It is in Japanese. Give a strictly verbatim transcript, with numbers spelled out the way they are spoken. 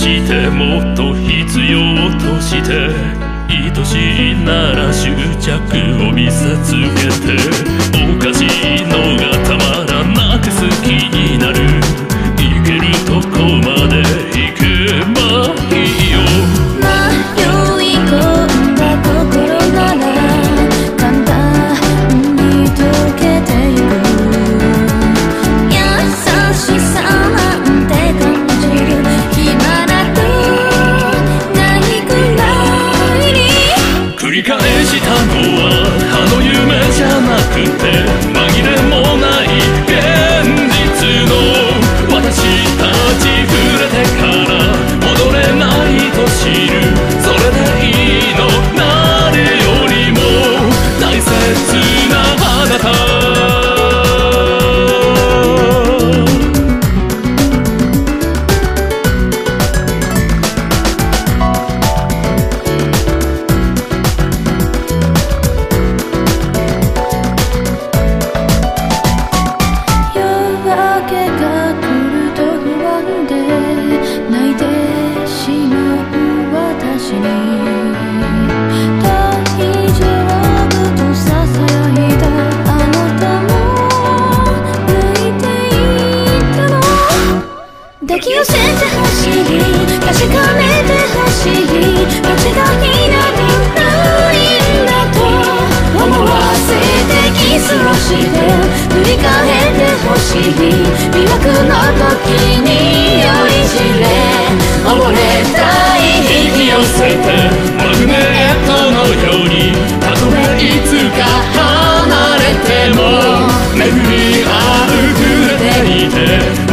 してもっと必要として愛しいなら執着を見せつけておかしいのがたまらなく好きになる行けるとこまで行けばいいよ迷い込んだ心なら簡単に溶けてゆく優しさなんて感じる暇などないくらいに繰り返したのはあの夢じゃなくて紛れもない現実の私たち触れてから戻れないと知るそれでいいの誰よりも大切なあなた抱き寄せてほしい確かめてほしい間違いなんてないんだと思わせてキスをして振り返ってほしい魅惑の時に酔いしれ溺れたい引き寄せてマグネットのようにたとえいつか離れても巡り合う触れていて